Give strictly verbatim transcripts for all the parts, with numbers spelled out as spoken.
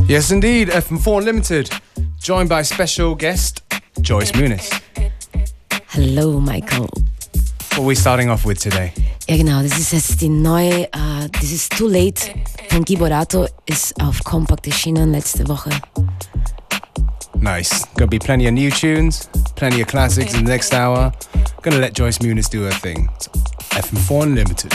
Yes, indeed, F M four Unlimited, joined by special guest Joyce Muniz. Hello, Michael. What are we starting off with today? Ja, genau, das ist jetzt die neue, uh, das ist Too Late von Giborato, ist auf Compact erschienen letzte Woche. Nice. Gonna be plenty of new tunes, plenty of classics in the next hour. Gonna let Joyce Muniz do her thing. So, F M four Unlimited.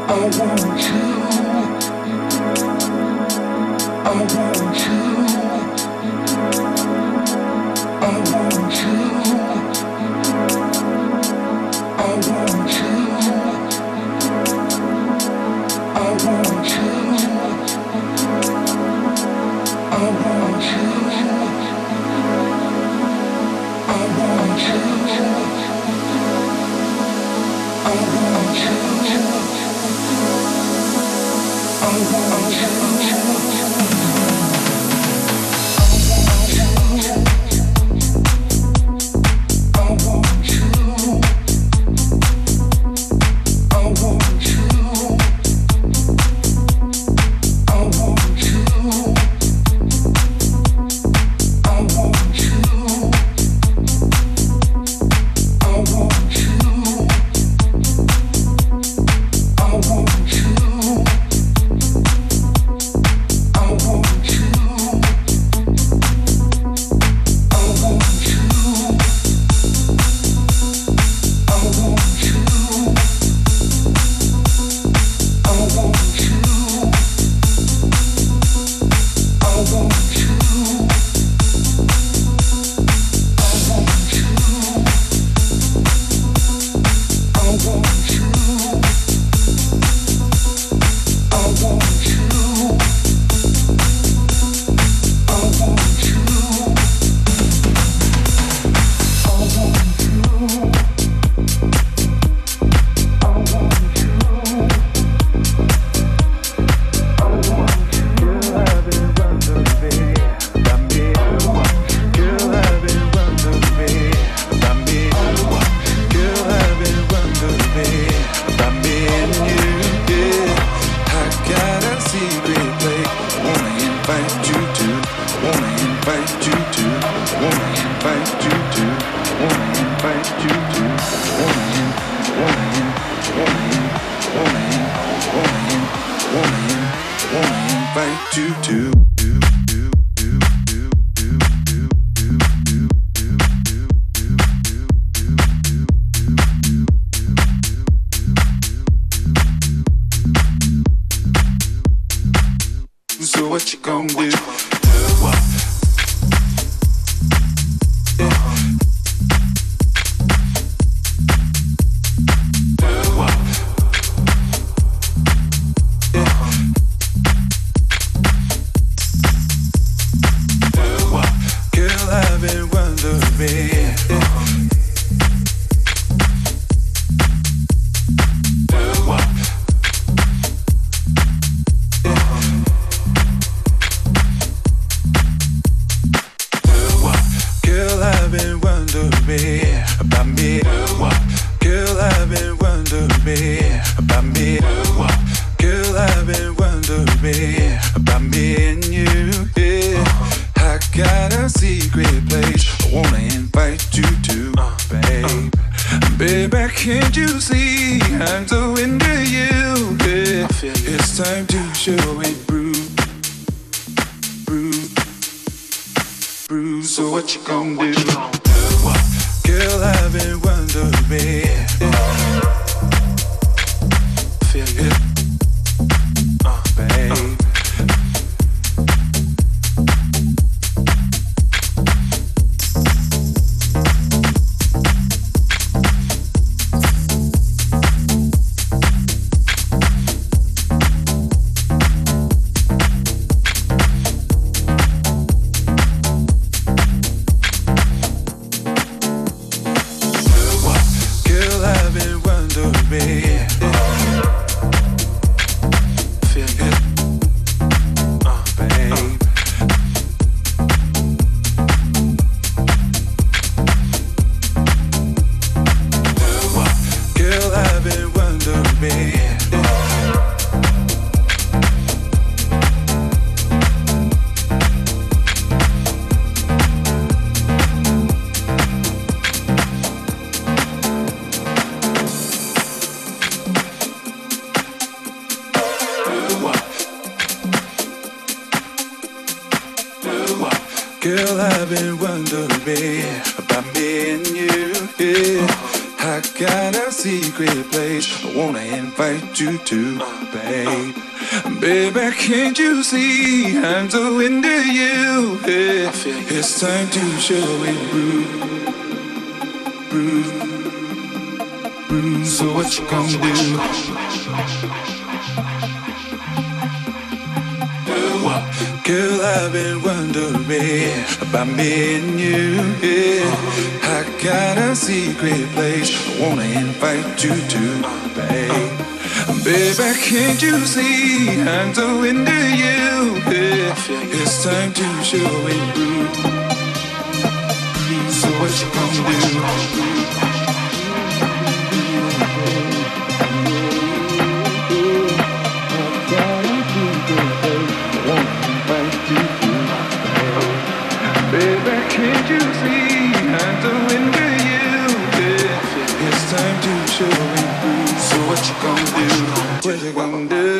Girl, I've been wondering about me and you, yeah. I got a secret place I wanna invite you to, babe. Baby, can't you see I'm so into you? Yeah. It's time to show it, Bruce. Bruce, Bruce. So what you gonna do? Girl, I've been wondering about me and you, yeah. I got a secret place I wanna invite you to, babe. Baby, can't you see I'm so into you, yeah. It's time to show it, Bruce. So what you gonna do? Baby, can't you see I'm so into you, yeah. It's time to show it, Bruce. So what you gonna do? What you gonna do?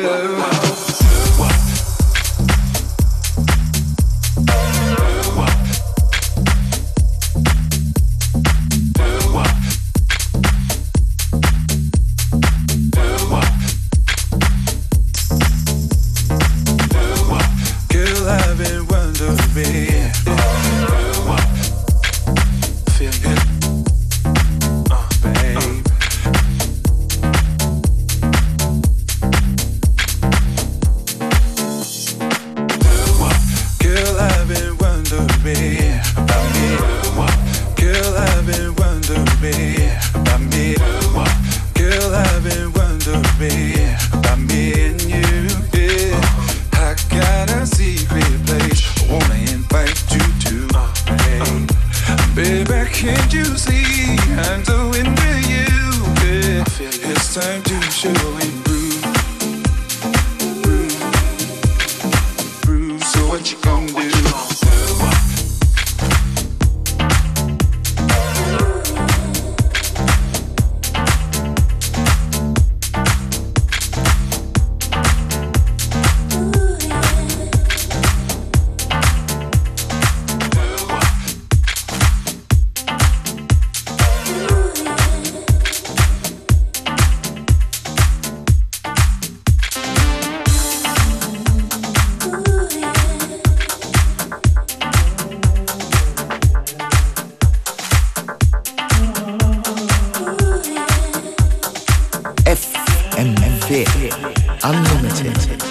Unlimited.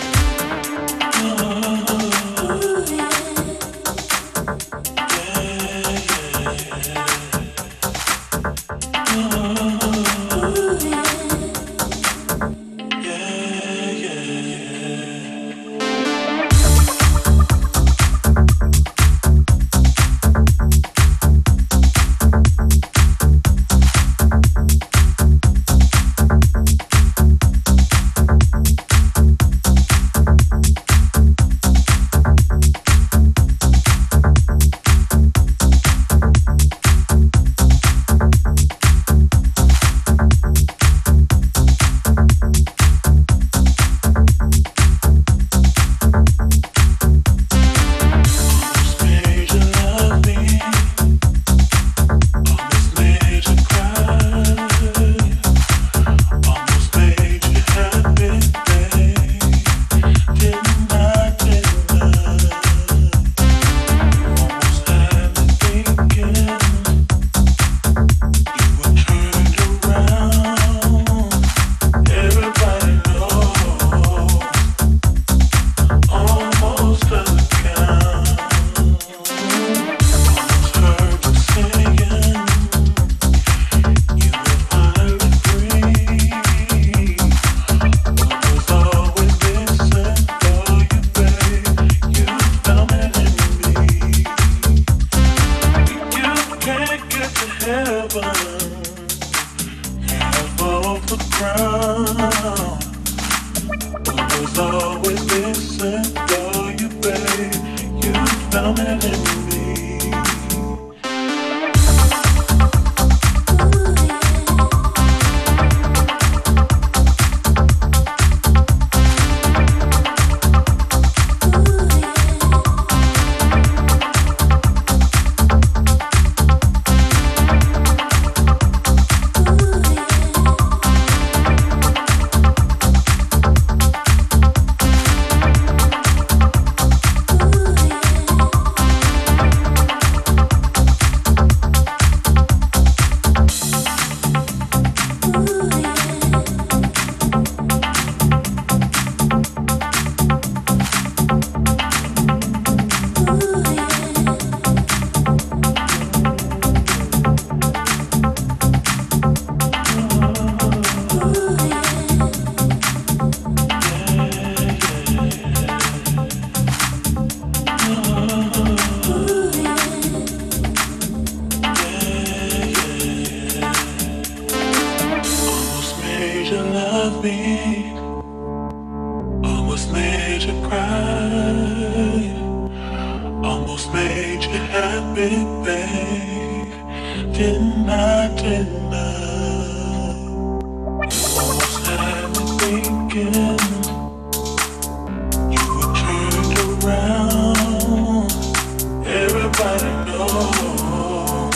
made you love me, almost made you cry, almost made you happy, babe. Didn't I, didn't I? You almost had me thinking you were turned around. Everybody knows,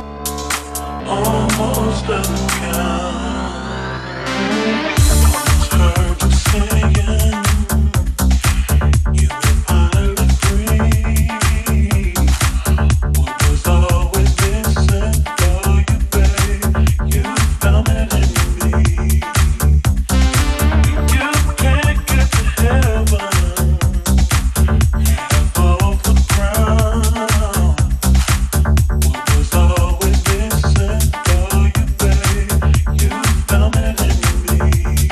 almost doesn't count. Almost heard you saying you were finally free. What was always missing for you, babe? You found it in me. You can't get to heaven, half off the ground. What was always missing for you, babe? You found it in me.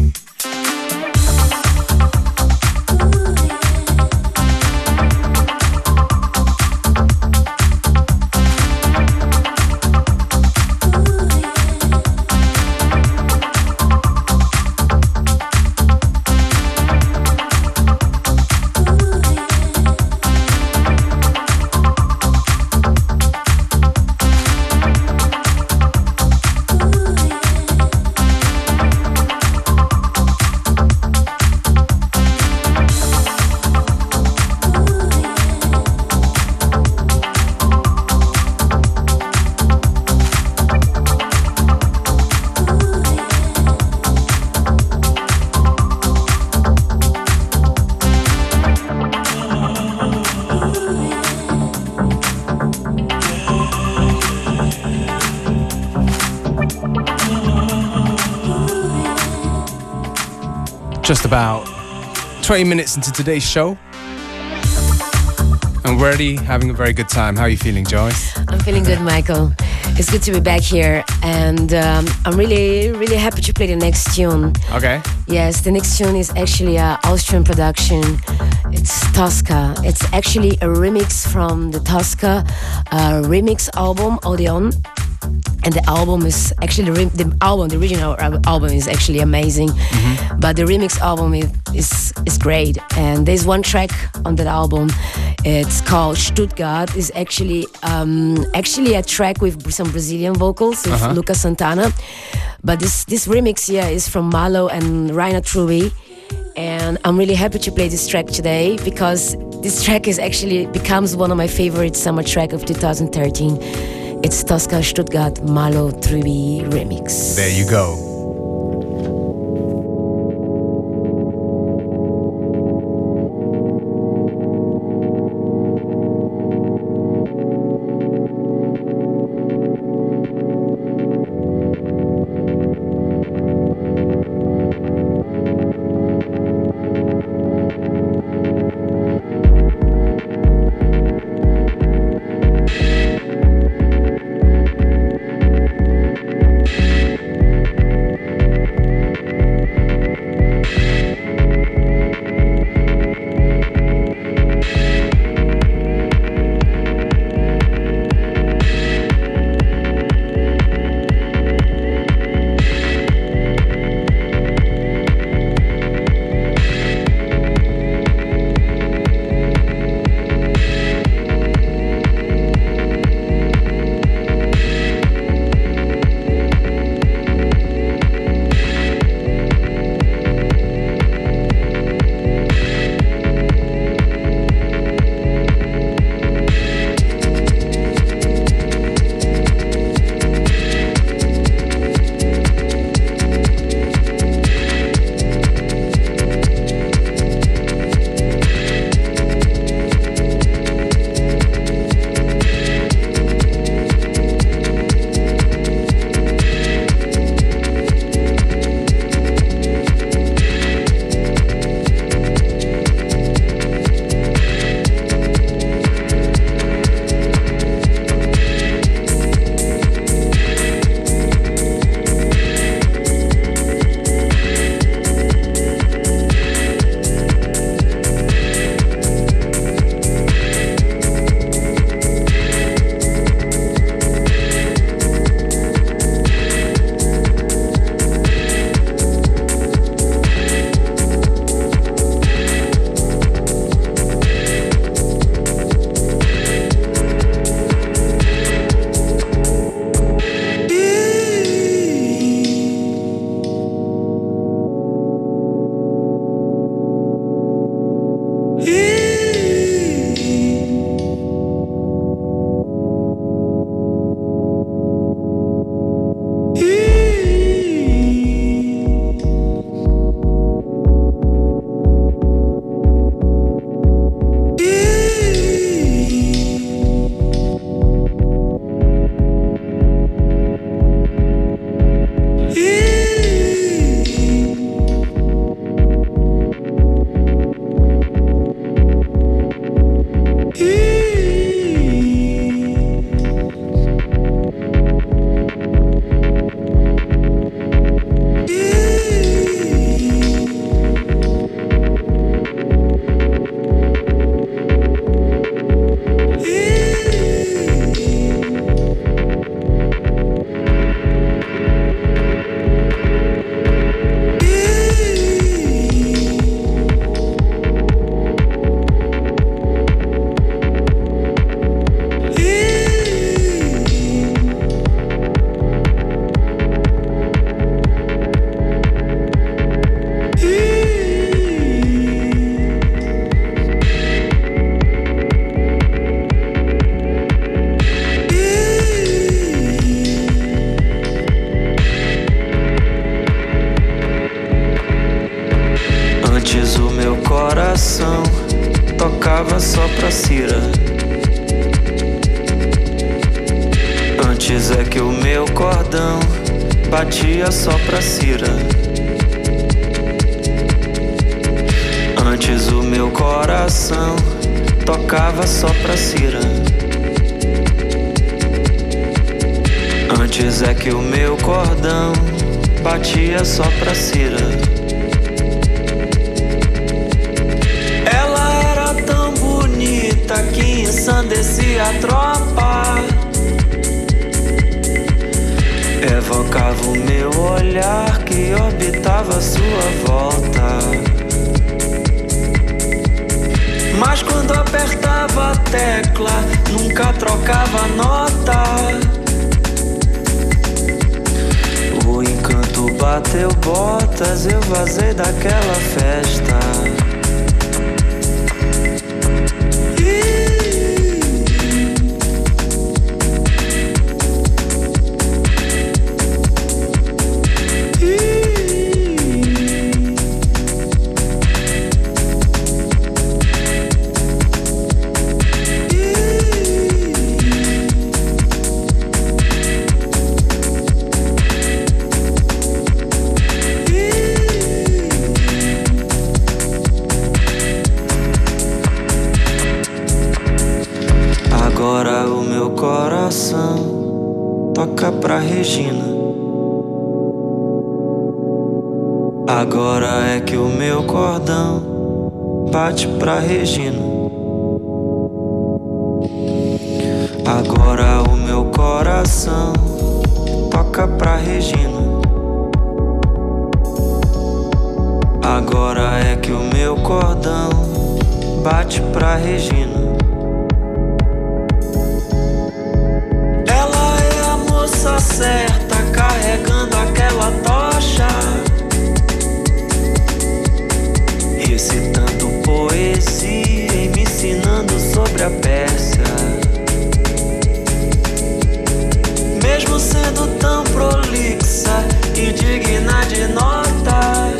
Just about twenty minutes into today's show. I'm already having a very good time. How are you feeling, Joyce? I'm feeling good, Michael. It's good to be back here, and um, I'm really, really happy to play the next tune. Okay. Yes, the next tune is actually an Austrian production. It's Tosca. It's actually a remix from the Tosca uh, remix album, Odeon. And the album is actually the, re- the album, the original album is actually amazing, mm-hmm. but the remix album is, is is great. And there's one track on that album. It's called Stuttgart. It's actually um, actually a track with some Brazilian vocals with uh-huh. Lucas Santana. But this this remix here is from Malo and Rainer Trubey. And I'm really happy to play this track today because this track is actually becomes one of my favorite summer track of two thousand thirteen. It's Tosca Stuttgart Malo Trubey remix. There you go. tocava só pra Cira. Antes é que o meu cordão batia só pra Cira. Antes o meu coração tocava só pra Cira. Antes é que o meu cordão batia só pra Cira. Ela era tão bonita que ensandecia a tropa. Evocava o meu olhar que orbitava a sua volta. Mas quando apertava a tecla, nunca trocava nota. O encanto bateu botas, eu vazei daquela festa. Toca pra Regina. Agora é que o meu cordão bate pra Regina. Agora o meu coração toca pra Regina. Agora é que o meu cordão bate pra Regina. Certa, carregando aquela tocha, recitando poesia e me ensinando sobre a Pérsia. Mesmo sendo tão prolixa e digna de nota,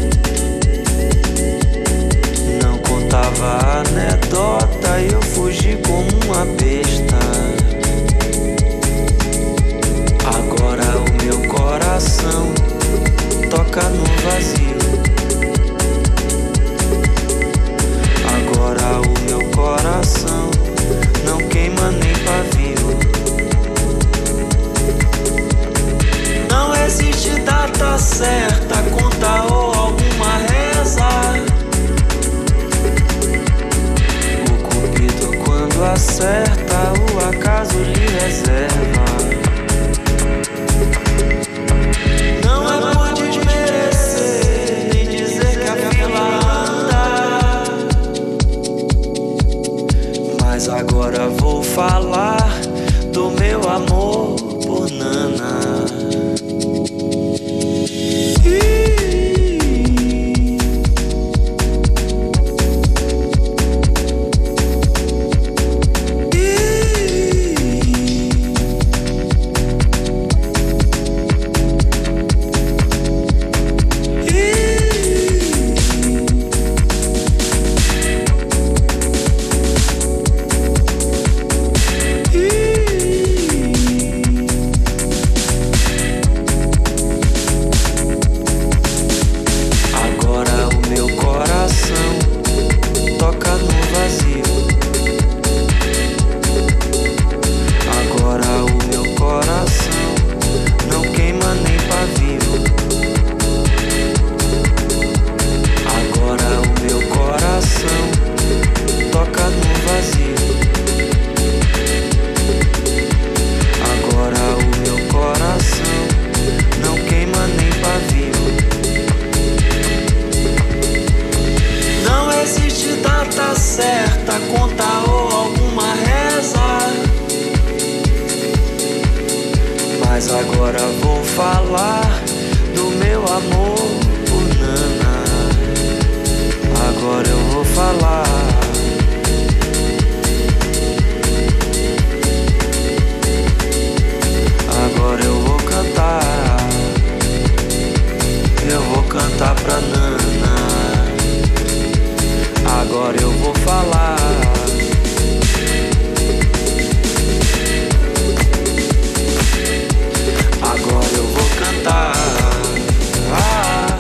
não contava anedota e eu fugi como uma besta. Agora o meu coração toca no vazio. Agora o meu coração não queima nem pavio. Não existe data certa, conta ou alguma reza. O cupido quando acerta, o acaso lhe reserva. Agora vou falar do meu amor por Nana. Cantar pra Nana. Agora eu vou falar falar. Agora eu vou cantar. Ah.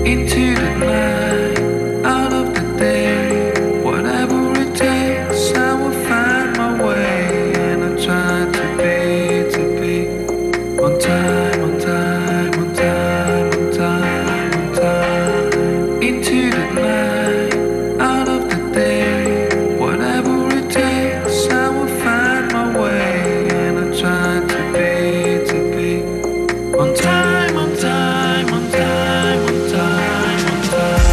into the night, out of the day. Whatever it takes, I will find my way. And I try to be, to be on time, on time, on time, on time, on time. Into the night, out of the day. Whatever it takes, I will find my way. And I try to be, to be on time, on time, on time, on time, on time.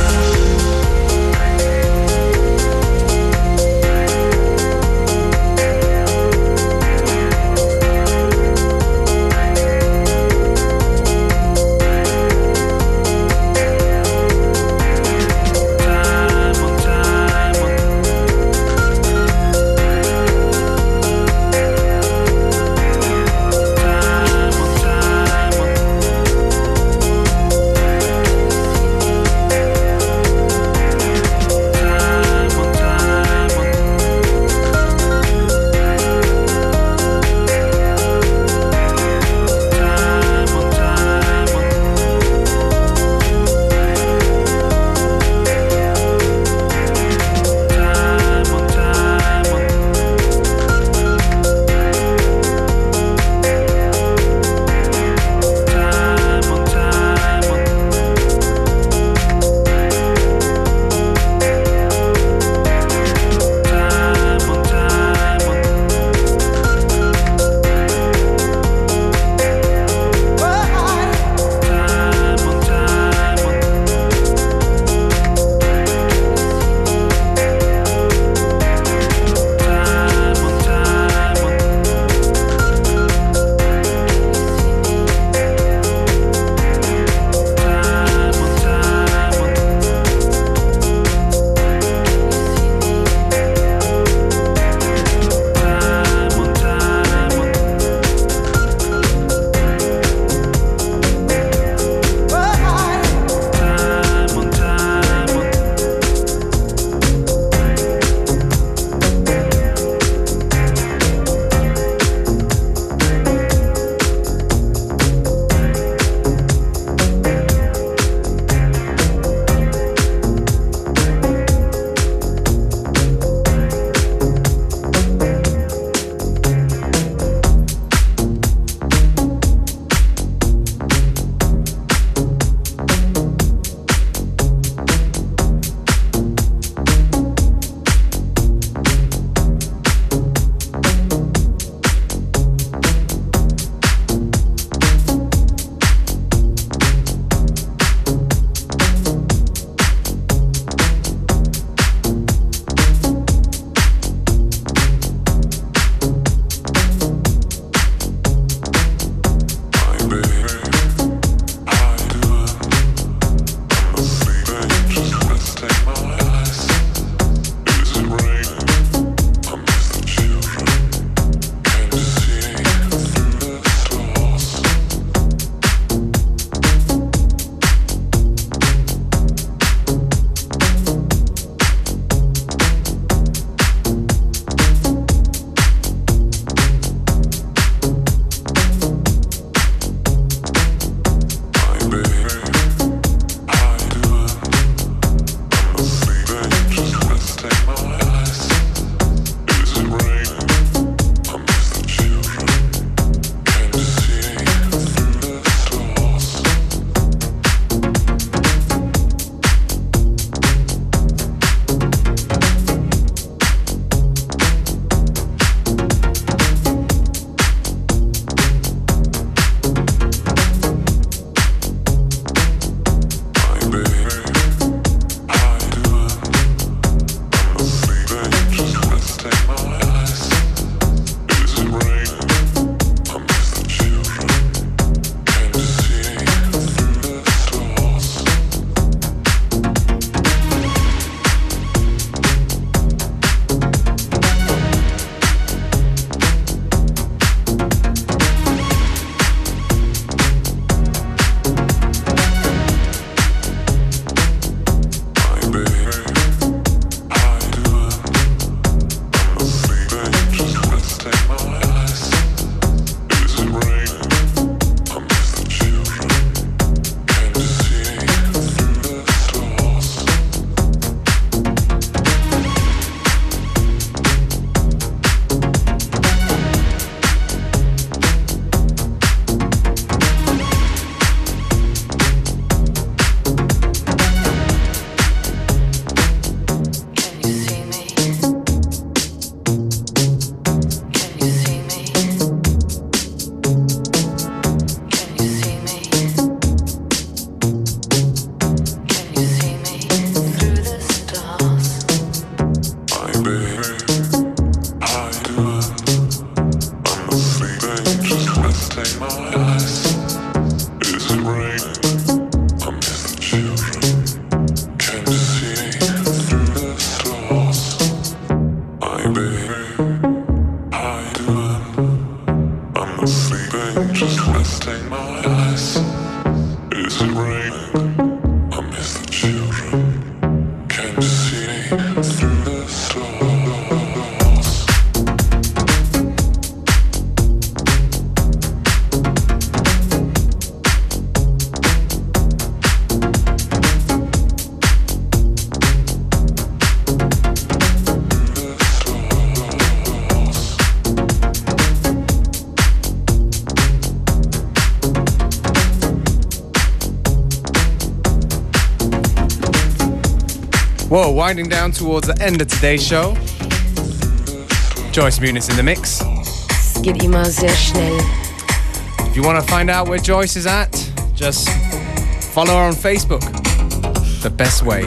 Whoa, winding down towards the end of today's show. Joyce Muniz in the mix. Es geht immer sehr schnell. If you want to find out where Joyce is at, just follow her on Facebook. The best way.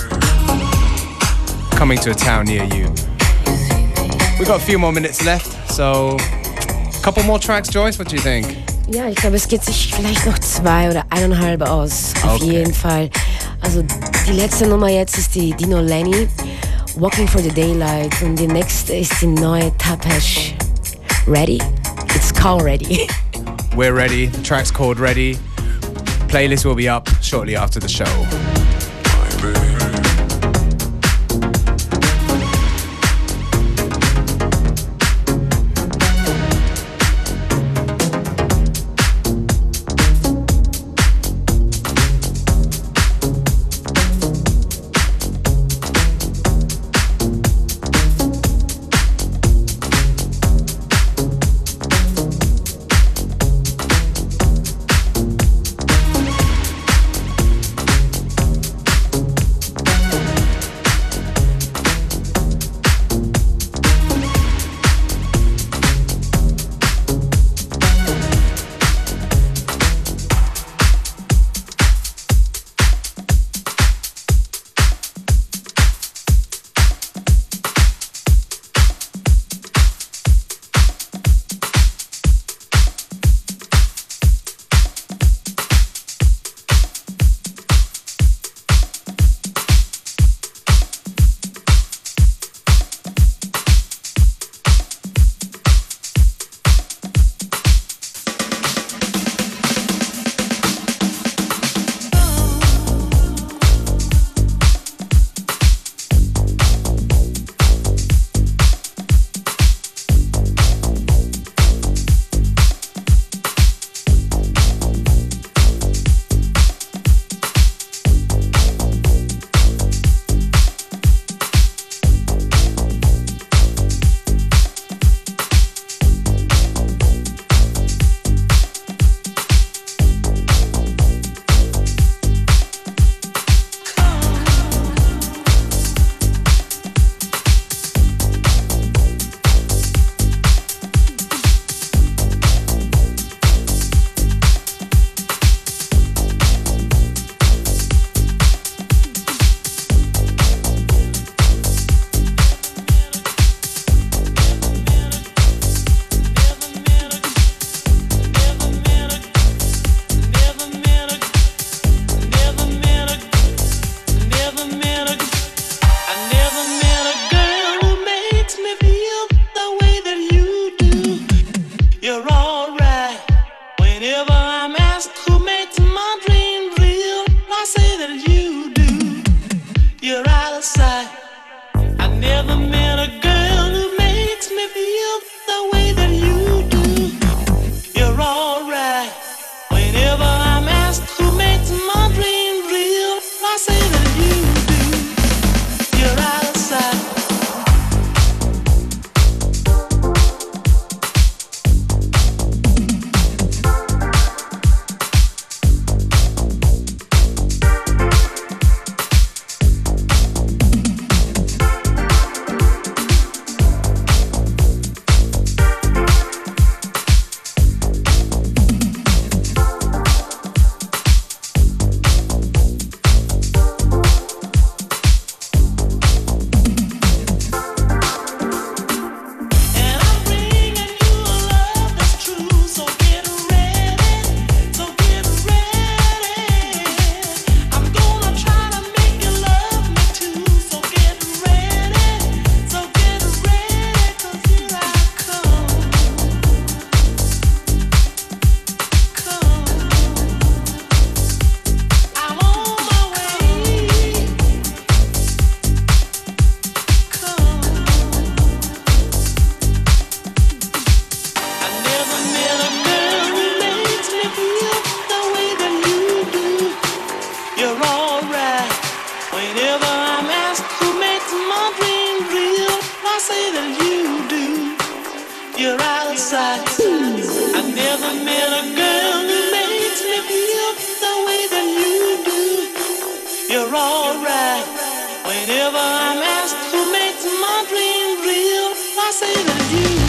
Coming to a town near you. We've got a few more minutes left, so a couple more tracks, Joyce, what do you think? Ja, ich glaube, es geht sich vielleicht noch zwei oder eineinhalb aus. Auf Okay. jeden Fall. Also die letzte Nummer jetzt ist die Dino Lenny, Walking for the Daylight. Und die nächste ist die neue Tapesh, Ready. It's called Ready. We're ready. The track's called Ready. Playlist will be up shortly after the show. you're outside. I never met a girl who makes me feel the way that you do. You're alright. Whenever I'm asked who makes my dream real, I say that you.